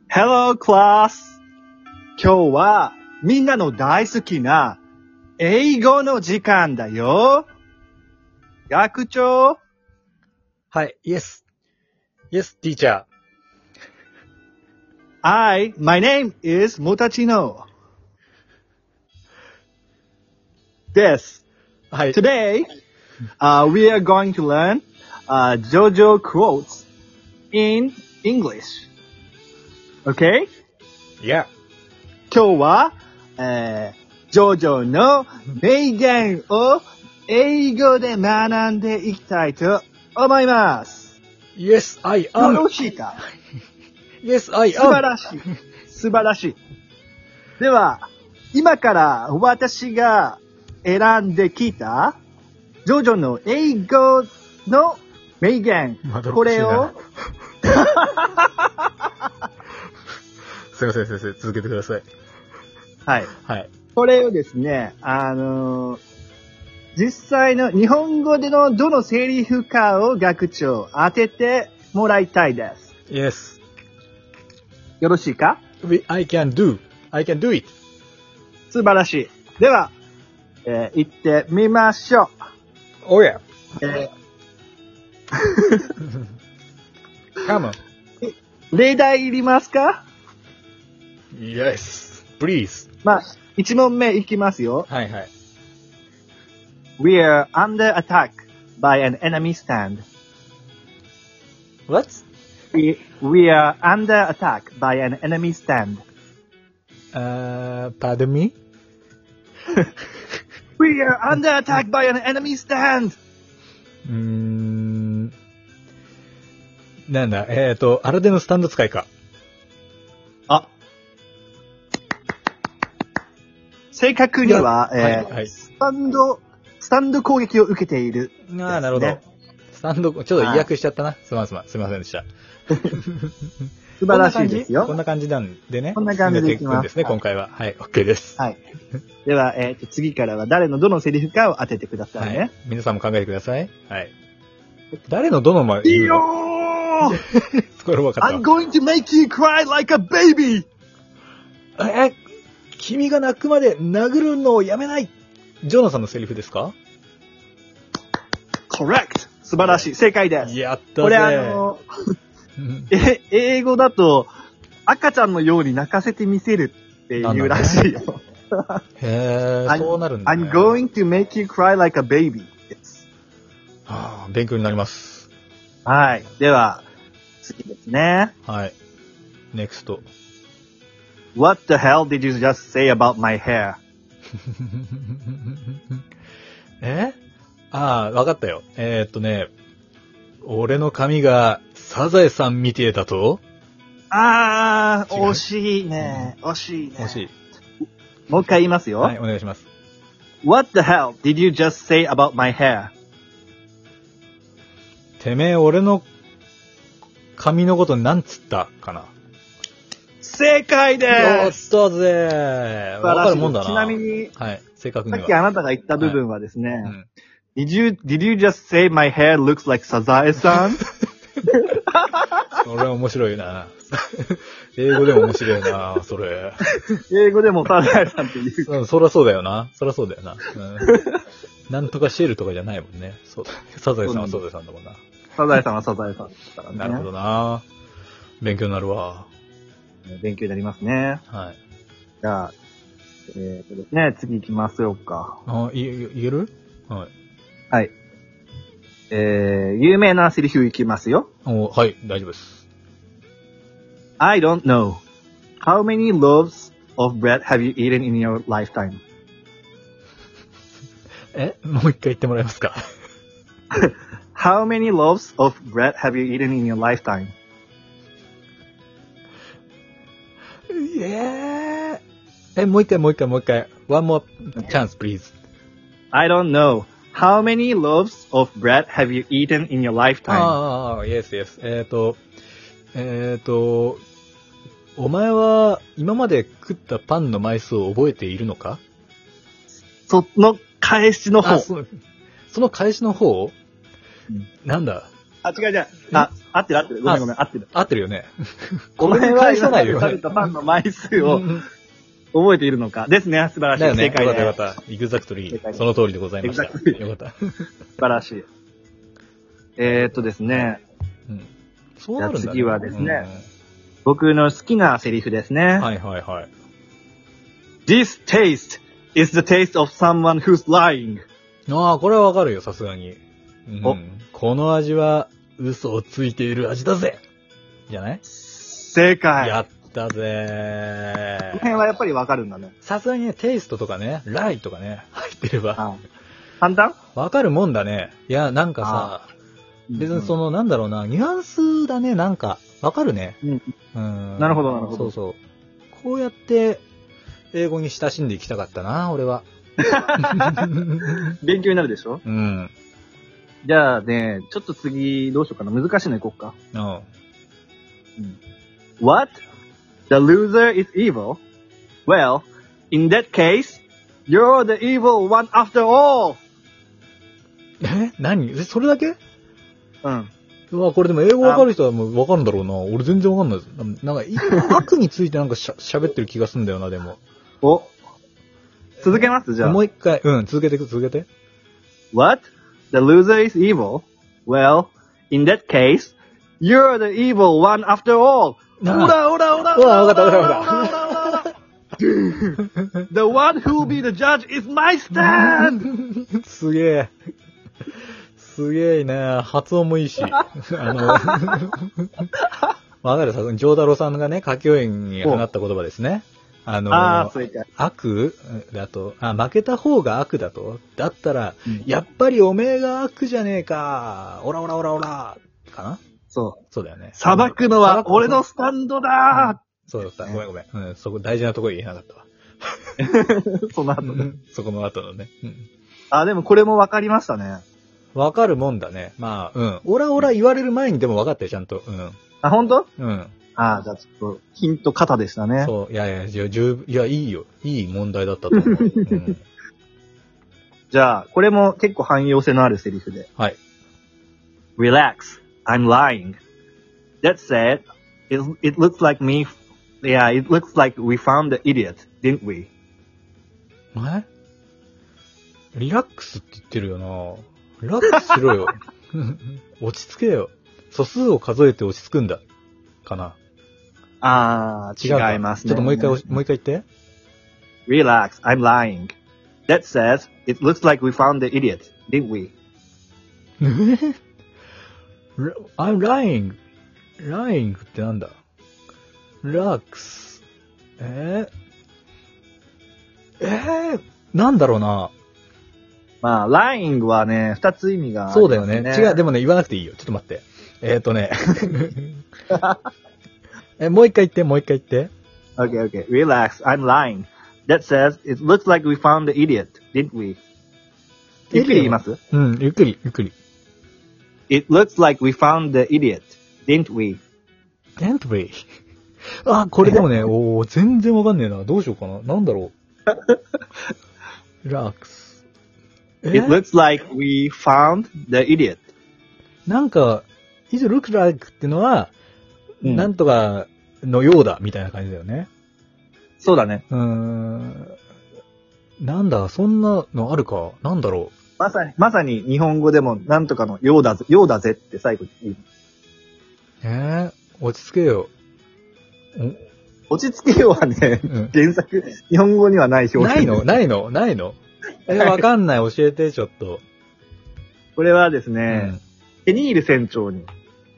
Hello, class! 今日はみんなの大好きな英語の時間だよ。学長。 はい、Yes. Yes, teacher. My name is Mutachino. This. はい。 Today, we are going to learn JoJo quotes in English. Okay? Yeah. 今日は、ジョジョの名言を英語で学んでいきたいと思います。 Yes, I よ am. ろしいか？ Yes, I 素晴 am. らしい。素晴らしい。では、今から私が選んできたジョジョの英語の名言。これをすいません、先生、続けてください。 はい。 はい。 これをですね、実際の日本語でのどのセリフかを学長当ててもらいたいです。 Yes. よろしいか？ I can do it. 素晴らしい。では、行ってみましょう。 Oh yeah. え Come on. 例題いりますか？ Yes. Please. まあ、1問目いきますよ。 はいはい。 We are under attack by an enemy stand. What? We are under attack by an enemy stand. Pardon me? We are under attack by an enemy stand. なんだ、アルデのスタンド使いか。 あ。正確には、 はい。 スタンド攻撃を受けている、ね。 ああ、なるほど。スタンド、ちょっと違約しちゃったな。すいませんでした。 素晴らしいですよ。 こんな感じなんでね。 こんな感じでいきます。 ですね、今回は。はい、OK です。 はい。では、次からは誰のどのセリフかを当ててくださいね。はい、 皆さんも考えてください。はい。誰のどの前いいよーこれ分かった。 I'm going to make you cry like a baby! 君が泣くまで殴るのをやめない。ジョナさんのセリフですか？ Correct! 素晴らしい。正解です。 やったぜ。 これ英語だと、赤ちゃんのように泣かせてみせるっていうらしいよ。 へー、そうなるんだね。 I'm going to make you cry like a baby. はあ、勉強になります。 はい。では、次ですね。 はい。NEXT。 What the hell did you just say about my hair? わかったよ。俺の髪がサザエさんみてえだと？ 惜しいね。惜しい。もう一回言いますよ。 はい、お願いします。 What the hell did you just say about my hair? てめえ、俺の髪のことなんつったかな？ 正解です。 やったぜ。わかるもんだな。 ちなみに、 はい、正確には。 さっきあなたが言った部分はですね、 はい、 Did you just say my hair looks like サザエさん？ それは面白いな。英語でも面白いな、それ。 英語でもサザエさんって言う。 そりゃそうだよな。なんとかシェルとかじゃないもんね。そうだ。サザエさんはサザエさんだもんな。 サザエさんはサザエさんですからね。 なるほどな。勉強になるわ。 勉強になりますね。 はい。 じゃあ、ですね、次行きましょうか。 言える？はい。 はい。有名なセリフいきますよ。 はい、大丈夫です。 I don't know. How many loaves of bread have you eaten in your lifetime? もう一回言ってもらえますか？ How many loaves of bread have you eaten in your lifetime? もう一回。One more chance, please. I don't know. How many loaves of bread have you eaten in your lifetime? Yes. お前は今まで食ったパンの枚数を覚えているのか？ その返しの方。 その返しの方？なんだ？ 違う。 合ってる合ってる。ごめんごめん、合ってる。 合ってるよね。 お前は返さないよね今まで食べ。たパンの枚数を覚えているのか。ですね、素晴らしい。 だよね。 正解でよかったよかった。エグザクトリー。 正解ですその通りでございました。 Exactly よかった。 素晴らしい。ですね、 うん。そうなるんだね。 じゃあ次はですね僕の好きなセリフですね。 はいはいはい。 This taste is the taste of someone who's lying. ああ、これはわかるよ、さすがに。 おこの味は嘘をついている味だぜじゃない正解。 やったぜこの辺はやっぱりわかるんだね。 さすがにね、テイストとかね、ライとかね、入ってれば、 はい。簡単わかるもんだね。いや、なんかさ、別にその、なんだろうな、ニュアンスだね、なんか、わかるね。 うん。 うん。 なるほどなるほどそうそう。こうやって、英語に親しんでいきたかったな、俺は。 勉強になるでしょ。 うん。 じゃあね、ちょっと次どうしようかな。難しいのいこうか。 うん。 What? The loser is evil? Well, in that case, you're the evil one after all! 何それだけうん。 うわ、これでも英語わかる人はもうわかるんだろうな。俺全然わかんないです。なんか、悪についてなんか喋ってる気がすんだよな、でも。 お。続けますじゃあ。 もう一回、続けて。 What? The loser is evil? Well, in that case, you're the evil one after all! なあオラオラオラうわわかったオラ The one who'll be the judge is my stand! すげえ。すげえね。発音もいいし。わかるさ、ジョーダロさんがね、歌教員に放った言葉ですね。 正解。 悪だと、負けた方が悪だと。だったら、やっぱりおめえが悪じゃねえか。オラオラオラオラ。かなそうだよね。 裁くのは俺のスタンドだそうだった。ごめんごめん。そこ大事なところ言えなかったわ。 その後。 そこの後のね。 でもこれもわかりましたね。 わかるもんだね。まあ、オラオラ言われる前にでも分かったよ、ちゃんと。 本当？ じゃあちょっと、ヒント型でしたね。 そう。いや、いや、いいよ。いい問題だったと思う。 じゃあ、これも結構汎用性のあるセリフで。 はい。 Relax, I'm lying. That said, it looks like it looks like we found the idiot, didn't we? リラックスって言ってるよな。リラックスしろよ。落ち着けよ。素数を数えて落ち着くんだ。かな。 違いますね。 ちょっともう一回言って。 Relax, I'm lying. That says, it looks like we found the idiot, didn't we? I'm lying. lying ってなんだ ?relax. なんだろうな。 lying はね、二つ意味がある、 そうだよね。違う、でもね、言わなくていいよ。ちょっと待って。もう一回言って。 Okay. Relax, I'm lying. That says, it looks like we found the idiot, didn't we? ゆっくり言います？ ゆっくり。 It looks like we found the idiot, didn't we? Didn't we? これでもね、全然わかんねえな。どうしようかな。なんだろう。relax. It looks like we found the idiot. なんか、it looks like ってのは、なんとかのようだ、みたいな感じだよね。 そうだね。 なんだ、そんなのあるか。なんだろう。まさに日本語でもなんとかのようだぜって最後に言う。 落ち着けよ。 落ち着けよはね、原作、日本語にはない表現。 ないのわかんない、教えて、ちょっと。 これはですね、ペニール船長に。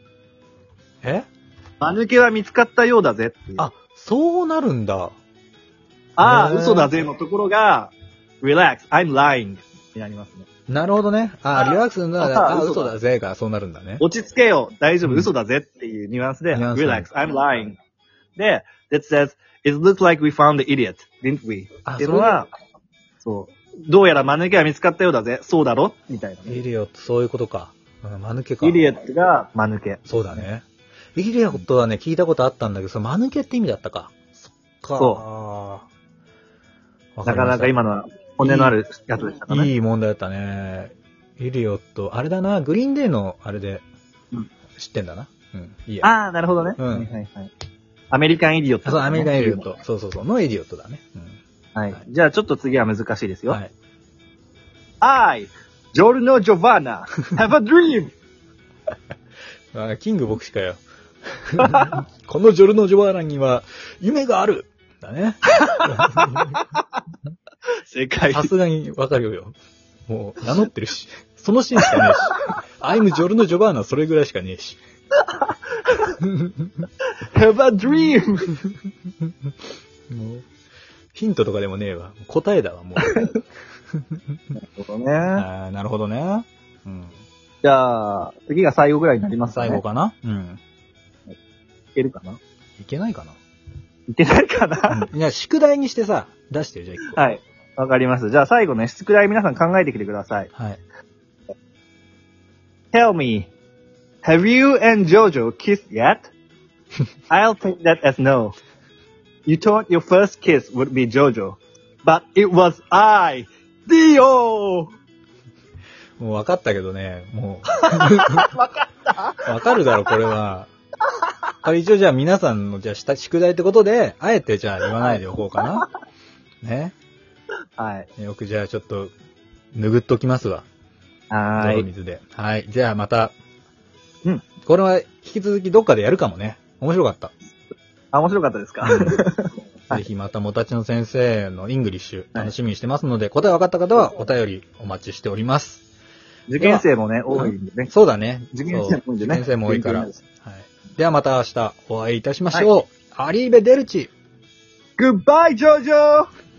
間抜けは見つかったようだぜっていう。 そうなるんだ。 嘘だぜのところが、relax, I'm lying になりますね。 なるほどね。リラックスな、嘘だぜが、そうなるんだね。 落ち着けよ、大丈夫、嘘だぜっていうニュアンスで、relax, I'm lying. で、that says, it looks like we found the idiot, didn't we? っていうのは、そう。どうやら間抜けは見つかったようだぜ。そうだろみたいな、 イリオット、そういうことか。間抜けか。 イリオットが間抜け。 そうだね。イリオットはね、聞いたことあったんだけど、その間抜けって意味だったか。そっか。 そう。なかなか今のは骨のあるやつでしたかね。 いい問題だったね。イリオット、あれだな、グリーンデーのあれで知ってんだな。 うん。いいや。 ああ、なるほどね。 うん。 はいはいはい。アメリカンイディオット、 そう、アメリカンイディオット。そうそうそう。のイディオットだね。うん。 はい。じゃあちょっと次は難しいですよ。 はい。 I, Giorno Giovanna, have a dream! あ、キング牧師かよ。このジョルノ・ジョバーナには夢があるだね。 正解。 さすがにわかるよ。もう名乗ってるし。そのシーンしかねえし。I'm ジョルノ・ジョバーナはそれぐらいしかねえし。 have a dream! もうヒントとかでもねえわ。答えだわ、もう。 なるほどね。 なるほどね。うん。 じゃあ、次が最後ぐらいになりますかね。 最後かな。うん。 いけるかな。 いけないかな。 いけないかな。 いや、宿題にしてさ、出してよ、じゃあ一個。 はい。わかります。じゃあ最後ね、宿題皆さん考えてきてください。 はい。 Tell me, have you and Jojo kissed yet? I'll take that as no. You thought your first kiss would be Jojo, but it was I, Dio! もう分かったけどね、もう。 わかった分かるだろ、これは。これ一応じゃあ皆さんのじゃあ宿題ってことで、あえてじゃあ言わないでおこうかな。ね。 はい。 よくじゃあちょっと、拭っときますわ。泥水で。はい。じゃあまた。 うん。 これは引き続きどっかでやるかもね。面白かった。 あ、面白かったですか、 ぜひまたもたちの先生のイングリッシュ楽しみにしてますので、答え分かった方はお便りお待ちしております。 受験生もね、多いんでね。 そうだね。 受験生も多いんでね。 受験生も多いから。はい。ではまた明日お会いいたしましょう。アリーベデルチ。 Goodbye, Jojo!